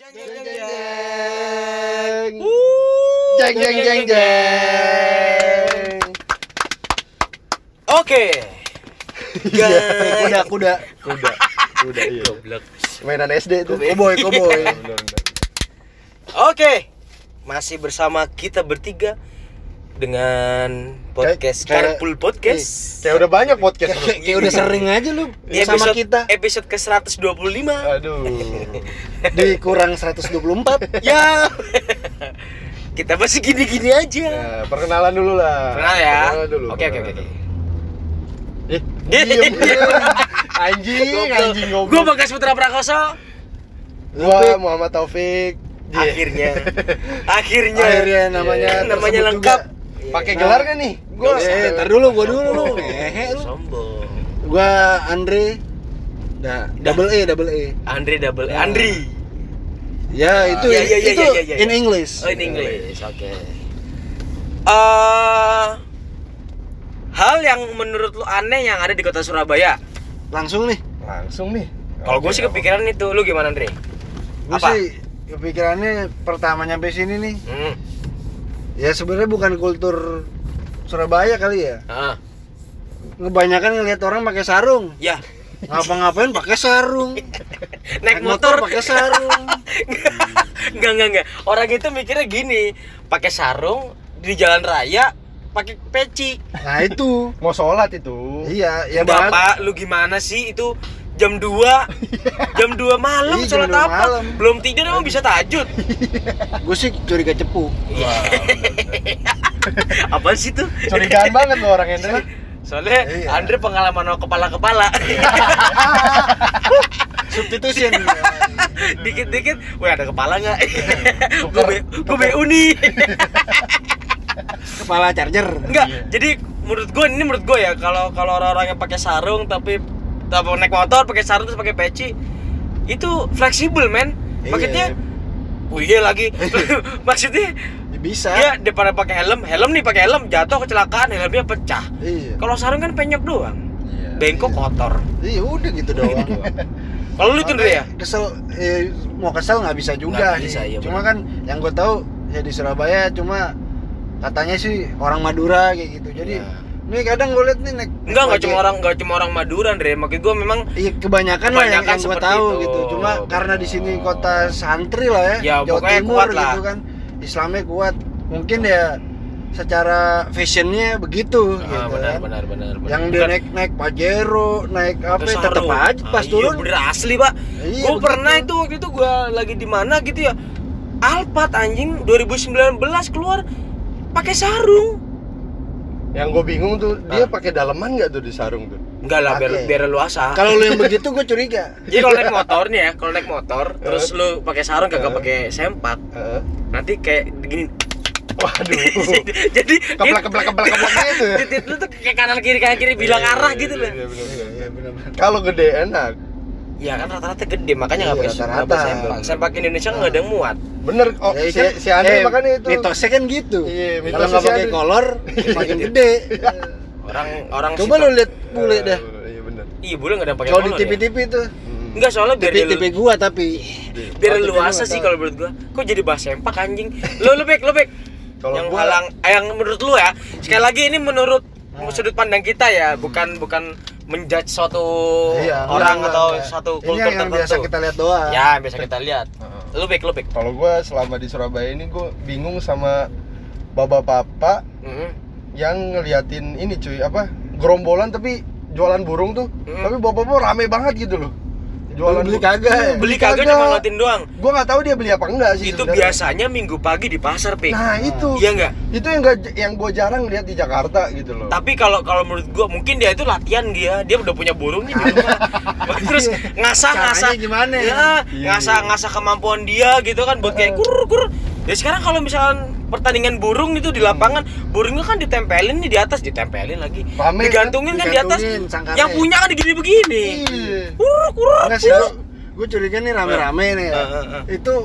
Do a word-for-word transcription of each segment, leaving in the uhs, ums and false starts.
Jeng jeng jeng jeng. Jeng jeng jeng jeng. Oke. Kuda kuda kuda kuda iya. Mainan S D itu. Cowboy cowboy. Oke. Masih bersama kita bertiga dengan podcast Kayak- Carpool Podcast. Kayak udah banyak podcast lu. Kayak udah sering aja lu Di sama episode, kita. episode ke seratus dua puluh lima. Aduh. Dikurang seratus dua puluh empat. Ya. Kita masih gini-gini aja. Nah, perkenalan dulu lah. Kenal ya. Perkenalan dulu. Oke oke oke. perkenalan dulu. Eh, diem, diem. Anjing, anjing Gue goblok. Bagas Putra Prakoso. Gua Muhammad Taufik. Akhirnya. Akhirnya. Akhirnya namanya namanya tersebut lengkap. Pakai gelar kan nih? Gua Eh, tar dulu gua dulu lu. Hehe lu. Sombong. Gua Andre. Nah, double E, double E. Andre double E. Andri. Ya, itu Ya, ya, ya, itu ya, ya, ya. in English. Oh, in English. Oke. Eh, hal yang menurut lu aneh yang ada di kota Surabaya? Langsung nih. langsung nih. Kalau gue Oke, sih kepikiran itu. Lu gimana, Andre? Gua Apa? sih kepikirannya pertama nyampe sini nih. Hmm. Ya sebenarnya bukan kultur Surabaya kali ya. Ah. Kebanyakan ngelihat orang pakai sarung. Ya. Ngapa-ngapain pakai sarung. Naik motor pakai sarung. Enggak, enggak, enggak. Orang itu mikirnya gini, pakai sarung di jalan raya, pakai peci. Nah, itu. Mau sholat itu. Iya, ya Udah, bang. Pak, lu gimana sih itu jam dua jam dua malam Iya, sholat jam dua apa? malam. Belum tidur emang bisa tahajud. Gue sih curiga cepu. Apaan sih tuh? Curigaan banget lo orang Hendra. Soalnya Iya. Andre pengalaman sama kepala-kepala. Substitution. Dikit-dikit, weh ada kepala nggak? Gue gue B U nih. Kepala charger. Enggak, jadi menurut gue ini menurut gue ya kalau kalau orang-orang yang pakai sarung tapi tapi naik motor pakai sarung terus pakai peci itu fleksibel men. Maksudnya, oh iya lagi. Maksudnya Ya, bisa. ya daripada pakai helm, helm nih pakai helm jatuh kecelakaan helmnya pecah. Iya. Kalau sarung kan penyok doang. Iya. Bengkok kotor. Iya udah gitu doang. Kalau lu itu Andre ya? Kesel, eh, mau kesel nggak bisa juga Nggak bisa, sih. iya Cuma bener. kan yang gue tahu ya di Surabaya cuma katanya sih orang Madura kayak gitu. Jadi Ya. ini kadang gue liat nih naik. Enggak, enggak pakai- cuma orang enggak cuma orang Madura Andre. Maksud gue memang Iya kebanyakan, lah yang, Kebanyakan yang gue seperti tahu itu. gitu. Cuma Oh, karena di sini kota santri lah ya, Ya, Jawa pokoknya Timur kuat lah. gitu kan, Islamnya kuat. Mungkin ya secara fashionnya begitu gitu ah, benar, kan. benar benar benar. Yang dia Bukan- naik naik Pajero, naik apa Pakai tetap sarung. aja pas Ah, turun. Iya, bener asli, Pak. Iya, Gue begitu. pernah itu waktu itu gue lagi di mana gitu ya. Alphard anjing dua ribu sembilan belas keluar pakai sarung. Yang gue bingung tuh, dia Ah. pakai daleman nggak tuh di sarung tuh? Enggak lah, biar Pakai. biar luasa. Kalau lu yang begitu gue curiga. Jadi kalau naik motor nih ya, kalau naik motor terus lu pakai sarung kagak Eh. pakai sempak, Heeh. nanti kayak gini. Waduh. Jadi Keplak keplak keplak keplak gitu. titit lu tuh kayak kanan kiri kanan kiri bilang Iya, arah iya, gitu iya, loh. iya, bener, bener. Iya benar-benar. Kalau gede enak. Ya kan rata-rata gede makanya nggak Iya, pakai nggak rata-rata. pakai sempak. Sempak Indonesia nggak ada yang muat. Bener. Oh, Ya, si, kan, si Andre eh, makanya itu. mitosnya kan gitu. Iya, Kalau mitosnya nggak si pakai Andre. kolor makin gede. Orang orang Coba situ- lu lihat bule dah. Eh, Iya bener. Iya, bule nggak ada yang pakai Kalau di kolor T V ya. T V tuh. Mm. Enggak, soalnya biar dia T V gua tapi biar Oh, T V luasa gua sih tahu. kalau menurut gua. Kok jadi bahas sempak anjing? Lu lu bek, lu bek. Kalau Yang gua- halang eh, yang menurut lu ya. Sekali lagi ini menurut Nah. sudut pandang kita ya, bukan bukan menjudge suatu Iya, orang enggak, atau enggak. satu Ini kultur yang, yang tertentu. biasa kita lihat doang. Ya, biasa kita lihat. Heeh. Lu bek, lu bek. Kalau gue selama di Surabaya ini gue bingung sama bapak-bapak Heeh. yang ngeliatin ini cuy apa gerombolan tapi jualan burung tuh, Mm. tapi bapak-bapak rame banget gitu loh. Jualan Beli burung. kagak ya? Beli kagak cuma ngeliatin doang. Gue nggak tahu dia beli apa enggak sih. Itu sebenarnya. biasanya minggu pagi di pasar, Pik. Nah itu. Iya enggak? Itu yang gak, yang gue jarang lihat di Jakarta gitu loh. Tapi kalau kalau menurut gua mungkin dia itu latihan dia, dia udah punya burung nih di rumah. Terus ngasah-ngasah Caranya gimana ya? Ya, Iya. ngasah-ngasah kemampuan dia gitu kan buat kayak kur-kur. Ya sekarang kalau misalkan pertandingan burung itu di lapangan, burungnya kan ditempelin nih di atas, ditempelin lagi. Rame, Digantungin kan di atas. Digantungin sangkarnya. Yang punya kan begini-begini. Iya. Kur-kur. Enggak sih gua, gua curiga nih rame-rame nih ya. Eh, eh, eh. Itu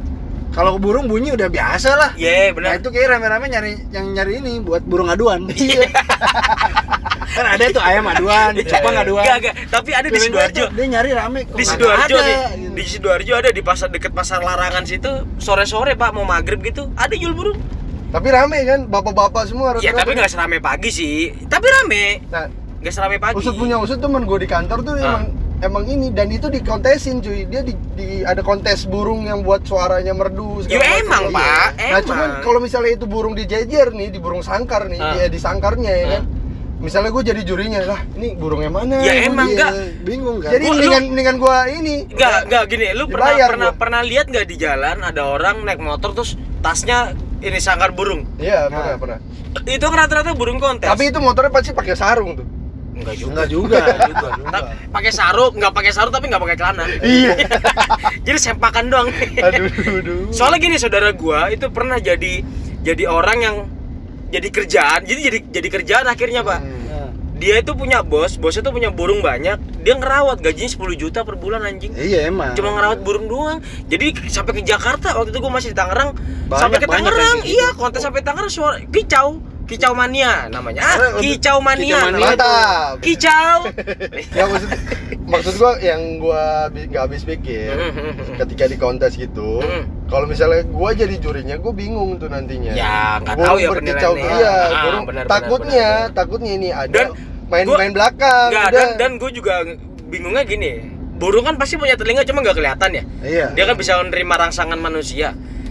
kalau burung bunyi udah biasa lah. Iya, Nah benar. itu kayak rame-rame nyari yang nyari ini buat burung aduan. Iya. Kan ada tuh ayam aduan, Jepang aduan. Enggak, enggak, tapi ada di Sidoarjo. Dia nyari rame kok. Di nggak Sidoarjo ada, nih. gitu. Di Sidoarjo ada di pasar dekat pasar Larangan situ, sore-sore Pak mau maghrib gitu, ada jual burung. Tapi rame kan, bapak-bapak semua Ya rata-rata. tapi nggak seramai pagi sih. Tapi rame. Nah, Nggak seramai pagi. usut punya usut temen gue di kantor tuh Ah. emang emang ini, dan itu dikontesin cuy. Dia di, di ada kontes burung yang buat suaranya merdu Ya segala emang, macam. Pak, Nah emang. cuman kalau misalnya itu burung dijejer nih, di burung sangkar nih, Ah. dia di sangkarnya ya Ah. kan. Misalnya gue jadi jurinya lah, ini burung yang mana? Ya Gua emang, dia. enggak. Bingung kan. Jadi Gua- mendingan mendingan gue ini. Enggak, enggak gini, lu pernah Dibayar pernah gua. pernah lihat nggak di jalan ada orang naik motor terus tasnya ini sangkar burung. Iya, Nah. pernah, pernah. Itu kan rata-rata burung kontes. Tapi itu motornya pasti pakai sarung tuh. enggak juga. Enggak juga. Enggak juga. Ta- Pakai sarung, enggak pakai sarung tapi enggak pakai celana. Iya. Jadi sempakan doang. Aduh, aduh. Soalnya gini, saudara gua itu pernah jadi jadi orang yang jadi kerjaan. Jadi jadi jadi kerjaan akhirnya, Pak. Hmm. Nah, Dia itu punya bos, bosnya tuh punya burung banyak. Dia ngerawat, gajinya sepuluh juta per bulan anjing. Iya emang. Cuma ngerawat burung doang. Jadi sampai ke Jakarta, waktu itu gua masih di Tangerang. Banyak- sampai ke banyak Tangerang, yang kayak iya, gitu. kontes sampai Tangerang suara kicau. Kicau mania namanya. Ah, Lebih- kicau mania. Kicau mania. namanya. Mantap. Kicau. Ya maksud maksud gua yang gua bi- nggak habis pikir ketika di kontes gitu. Hmm. Kalau misalnya gua jadi jurinya, gua bingung tuh nantinya. Ya, nggak Burung tahu ya berkicau penilaiannya. iya, Ah, burung benar, benar, takutnya, benar, benar. takutnya ini ada Dan main gua- main belakang. Enggak, udah. dan dan gue juga bingungnya gini. Burung kan pasti punya telinga cuma nggak kelihatan ya. Iya. Dia kan bisa menerima rangsangan manusia.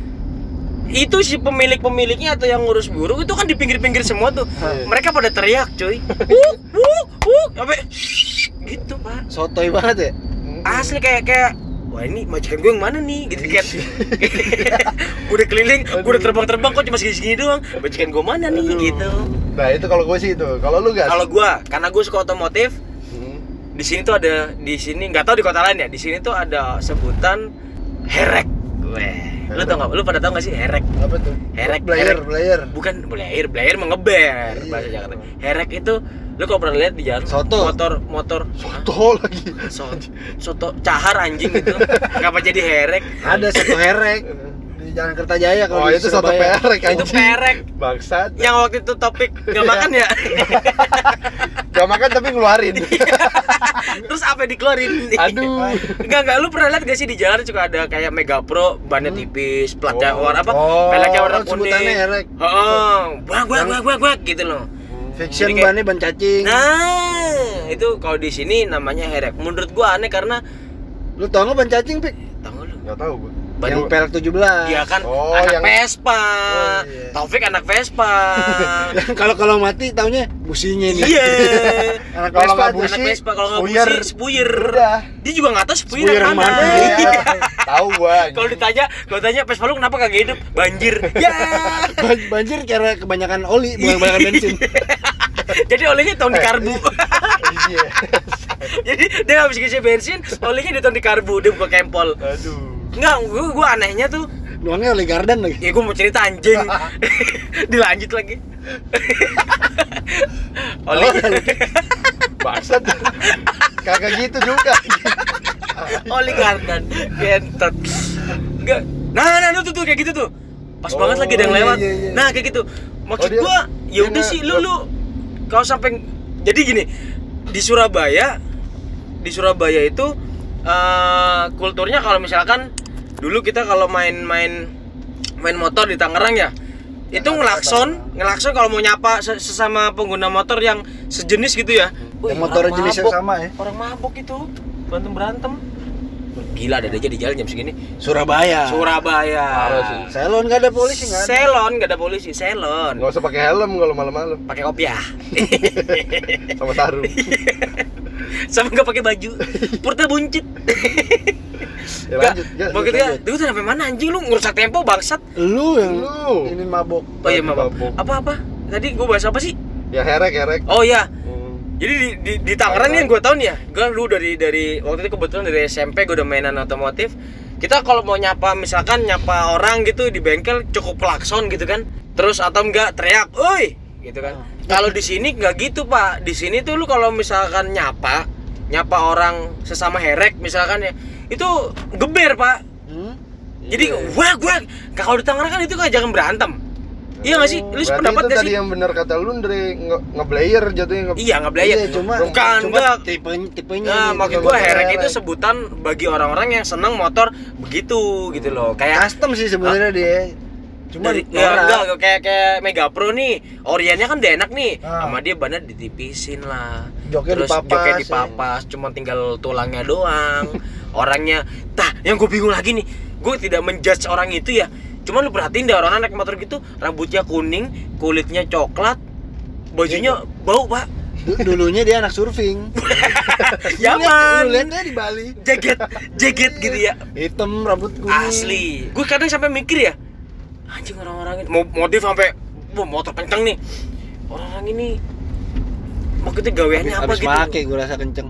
Itu si pemilik-pemiliknya atau yang ngurus burung itu kan di pinggir-pinggir semua tuh. Iya. Mereka pada teriak, cuy. Wuk, wuk, wuk, sampai gitu, Pak. Sotoy banget ya. Asli kayak kayak wah ini majikan gue yang mana nih gitu kan. Udah keliling, gue udah terbang-terbang kok cuma segini-segini doang. Majikan gue mana nih Aduh. gitu. Nah, itu kalau gue sih itu. Kalau lu gas? Kalau gua, karena gue suka otomotif, Hmm. di sini tuh ada di sini nggak tahu di kota lain ya. Di sini tuh ada sebutan herek. Weh, lu tau nggak? Lu pada tau nggak sih herek? Apa tuh? Herek, Blayer, herek. blayer. Bukan blayer, blayer mengeber Iya. bahasa Jakarta. Herek itu lu kalau pernah lihat di jalan Soto. motor motor Soto lagi. Hah? So, soto cahar anjing itu. Ngapa jadi herek? Ada satu herek di Jalan Kertajaya kalau Oh, di itu soto Surabaya. perek Itu anjing. perek. Bangsat. Yang waktu itu topik nggak makan ya? Gak makan tapi ngeluarin. Terus apa yang dikeluarin? Aduh. Enggak, enggak, lu pernah lihat gak sih di jalan juga ada kayak Mega Pro, bannya tipis, platnya Oh. warna apa? Oh, Peleknya warna oh, sebutannya kuning. herek. Heeh. Wah, wah, wah, wah, wah gitu loh. Fiction Jadi kayak- bannya ban cacing. Nah, itu kalau di sini namanya herek. Menurut gua aneh karena Lu tau nggak ban cacing, Pik? tahu nggak lu? Gak tahu gue. Ban Yang pelek tujuh belas. dia kan Oh, anak yang- Vespa. Oh, iya. Taufik anak Vespa. Kalau kalau mati taunya businya nih. Iya. Anak Kalau Vespa nggak tuh. busi, Anak Vespa kalau nggak spuyer. busi, spuyer. Udah. Dia juga nggak tahu spuyer Spuyer yang mana. mana. Iya. Tahu gua. Kalau ditanya, kalau ditanya Vespa lu kenapa kagak hidup? Banjir. Ya. Ban- banjir karena kebanyakan oli, bukan kebanyakan bensin. Jadi olehnya tahun di karbu. Iya. Jadi dia habis ngisi bensin, olehnya ditaruh di karbu, dia buka kempol. Aduh. Enggak, gua, gua anehnya tuh, Nuangnya oli garden lagi. ya gua mau cerita anjing. Dilanjut lagi. Olehnya, Bangsat. Kagak gitu juga. oli garden, gentot. Enggak. Nah, nah, tuh, tuh, tuh kayak gitu tuh. Pas Oh, banget lagi ada yang iya, lewat. iya, iya. Nah, kayak gitu. Maksud Oh, dia- gua, ya dia udah nggak- sih lu lu kalau sampai jadi gini, di Surabaya di Surabaya itu eh, kulturnya kalau misalkan dulu kita kalau main-main main motor di Tangerang ya, itu ngelakson, ngelakson kalau mau nyapa se- sesama pengguna motor yang sejenis gitu ya. Wih, Yang motornya orang jenisnya mabok. sama ya. Orang mabok itu berantem berantem. Gila, ada aja di jalan jam segini. Surabaya. Surabaya. Parah sih. Selon nggak ada polisi nggak ada. Selon nggak ada polisi, selon. Gak usah pakai helm kalau malam-malam. Pakai kopiah. Sama sarung. Sama nggak pakai baju. Purta buncit. Ya, Nggak, lanjut, gas, begitu ya. lanjut. Lu tuh sampai mana anjing lu ngerusak tempo bangsat. Lu yang Lu. ini mabok. Oh iya, maaf. Mabok. Apa-apa? Tadi gua bahas apa sih? Ya herek herek. Oh iya. Hmm. Jadi di, di, di Tangerang nih yang gue tau nih ya, gue lu dari dari waktu itu kebetulan dari S M P gue udah mainan otomotif. Kita kalau mau nyapa misalkan nyapa orang gitu di bengkel cukup klakson gitu kan, terus atau enggak teriak, "Oi!" gitu kan. Kalau di sini nggak gitu Pak. Di sini tuh lu kalau misalkan nyapa nyapa orang sesama herek misalkan ya, itu geber Pak. Hmm? Jadi Iya. wah wah kalau di Tangerang kan itu kan jangan berantem. Iya nggak sih? Lu Berarti pendapat itu nggak tadi sih? yang benar kata lu Andre, nge- ngeblayer jatuhnya nge- Iya ngeblayer. Iya, cuma bukan cuma enggak. tipe tipenya. Nah, nih, maksud tipe gua motor herek itu herek. sebutan bagi orang-orang yang seneng motor begitu gitu loh. Kayak custom sih sebenarnya dia. Cuma dari, ya, enggak kayak kayak Mega Pro nih, Oriennya kan udah enak nih, Ah. sama dia bannya ditipisin lah, Joknya terus dipapas, joknya ya. dipapas, cuma tinggal tulangnya doang, orangnya, tah yang gue bingung lagi nih, gue tidak menjudge orang itu ya, cuma lu perhatiin deh orang naik motor gitu, rambutnya kuning, kulitnya coklat, bajunya bau pak, Du- dulunya dia anak surfing. Yaman, Lu lihat dia di Bali. jaget, jaget gitu ya, Hitam rambut kuning. asli, gue kadang sampai mikir ya, anjing orang-orang ini mau motif sampai wah, motor kenceng nih, orang ini maksudnya gaweannya apa Habis gitu, make gue rasa kenceng.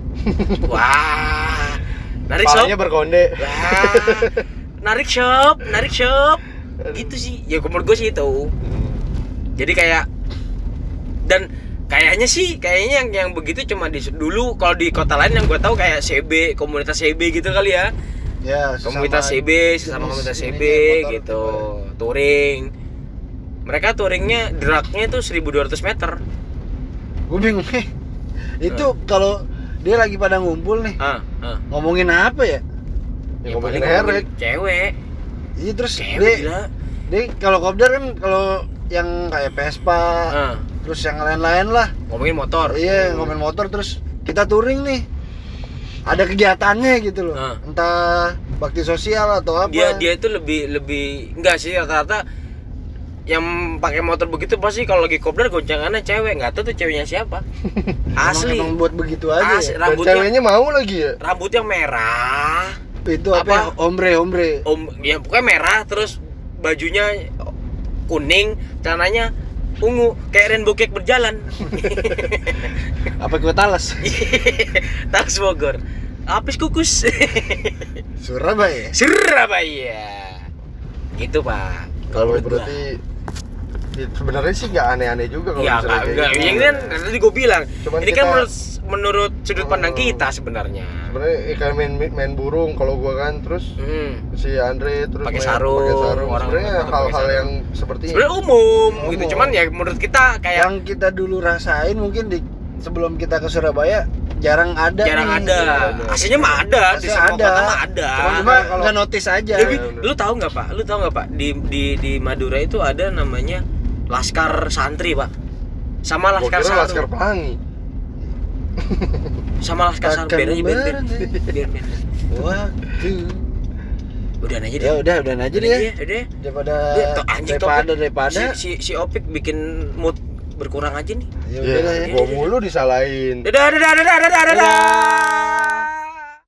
wah, narik shop, Palanya berkonde. wah, narik shop, narik shop, gitu sih, ya menurut gue sih itu, jadi kayak dan kayaknya sih, kayaknya yang yang begitu cuma di dulu, kalau di kota lain yang gue tahu kayak C B, komunitas C B gitu kali ya. Ya, sesama Komunitas C B, sesama jenis komunitas C B ininya motor gitu, gitu. touring. Mereka touringnya dragnya itu seribu dua ratus meter. Gue bingung nih. Itu kalau dia lagi pada ngumpul nih, Ah, ah. ngomongin apa ya? Ya, paling ngomongin ngomongin herek. cewek. Iya terus Cewek dia, gila. dia kalau kopdar kan kalau yang kayak Vespa, Ah, terus yang lain-lain lah. ngomongin motor. Iya, ngomongin motor terus kita touring nih. Ada kegiatannya gitu loh. Ah. Entah bakti sosial atau apa. Dia dia itu lebih lebih enggak sih rata-rata yang pakai motor begitu pasti kalau lagi kopdar goncangannya cewek, nggak tahu tuh ceweknya siapa. Asli. Emang, emang buat begitu aja. Asli. Ya? Dan Rambutnya- ceweknya mau lagi ya? Rambutnya merah. Itu apa? Apa? ya? Ombre, ombre. Om, ya pokoknya merah terus bajunya kuning, celananya ungu kayak rainbow cake berjalan. Apa gue talas? Tas Bogor. Apis kukus. Surabaya. Surabaya. Gitu, Pak. Kalau menurut gua. berarti ya, sebenarnya sih nggak aneh-aneh juga kalau Ya misalnya enggak, kayak enggak. gitu. Ini kan tadi gue bilang. Cuman ini kan kita- menurut menurut sudut pandang Oh. kita sebenarnya. Sebenarnya eh, kayak main main burung kalau gua kan, terus Hmm. si Andre terus Pakai main- sarung, pakai sarung. orang Sebenarnya pakai hal-hal sarung. yang seperti Sebenarnya umum, Umum. gitu. Cuman ya menurut kita kayak Yang kita dulu rasain mungkin di sebelum kita ke Surabaya jarang ada. jarang nih. ada. Ada. Aslinya mah ada, di Aslinya semua ada. kota mah ada. Cuma cuma Kalau- nggak notice aja. Tapi bener. lu tahu nggak Pak? Lu tahu nggak Pak? Di di di Madura itu ada namanya Laskar Santri Pak. Sama Gua Laskar kira Sarung. Laskar Pelangi. Sama Laskar Sarung. Takkan Biar aja biar biar. bareng. Biar biar. Waktu. Udah aja deh. Ya udah, udah aja Udah deh. ya, ya. udah. Daripada Dia to- anjing daripada topik. daripada. Si, si si Opik bikin mood berkurang aja nih. Ya udah lah ya. Ya, gua mulu disalahin. Dadah dadah dadah dadah dadah.